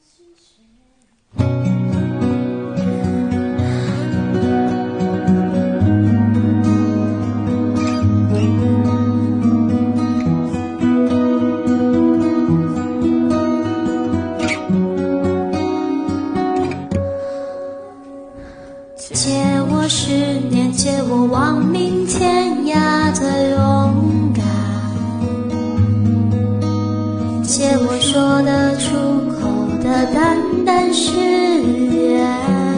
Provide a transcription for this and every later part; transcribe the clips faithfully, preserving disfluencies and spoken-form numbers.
借我十年，借我亡命天涯的勇敢，借我说得出口的淡淡誓言，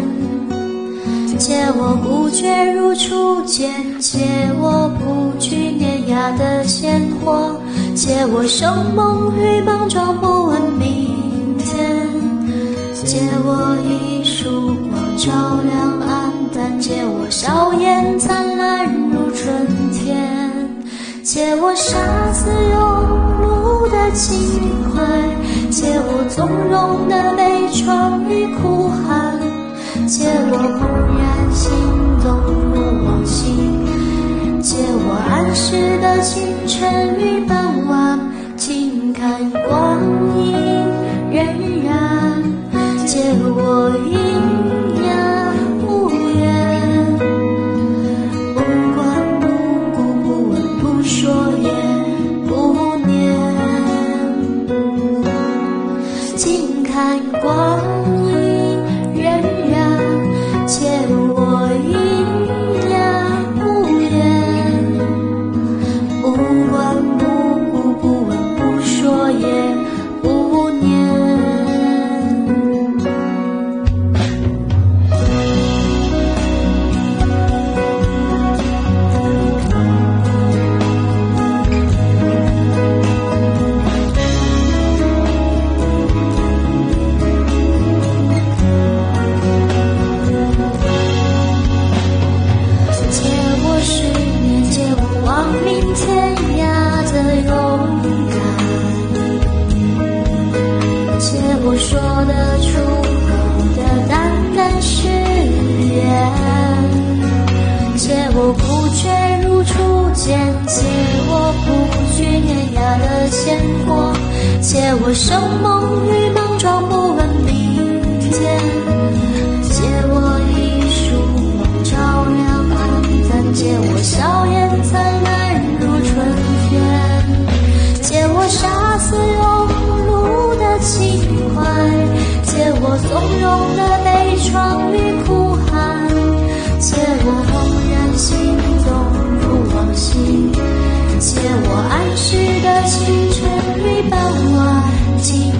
借我不觉如初见，借我不惧碾压的鲜活，借我生猛与莽撞不问明天，借我一束光照亮暗淡，借我笑颜灿烂如春天，借我杀死庸碌的情怀，借我从容的悲怆与哭喊，借我怦然心动如往昔，借我安适的清晨与傍晚，静看光阴荏苒，借我阴阳无言，不管不顾不问不说也不念，静看光阴荏苒，借我阴阳无言，不管不顾不问不说也不念。天涯的勇敢，借我说得出口的淡淡誓言，借我不觉如初见，借我不惧碾压的鲜活，借我生猛与莽撞不问明天，借我一束光照亮暗淡，借我笑颜灿烂春天，借我杀死庸碌的情怀，借我从容的悲怆与哭喊，借我怦然心动如往昔，借我安适的清晨与傍晚，静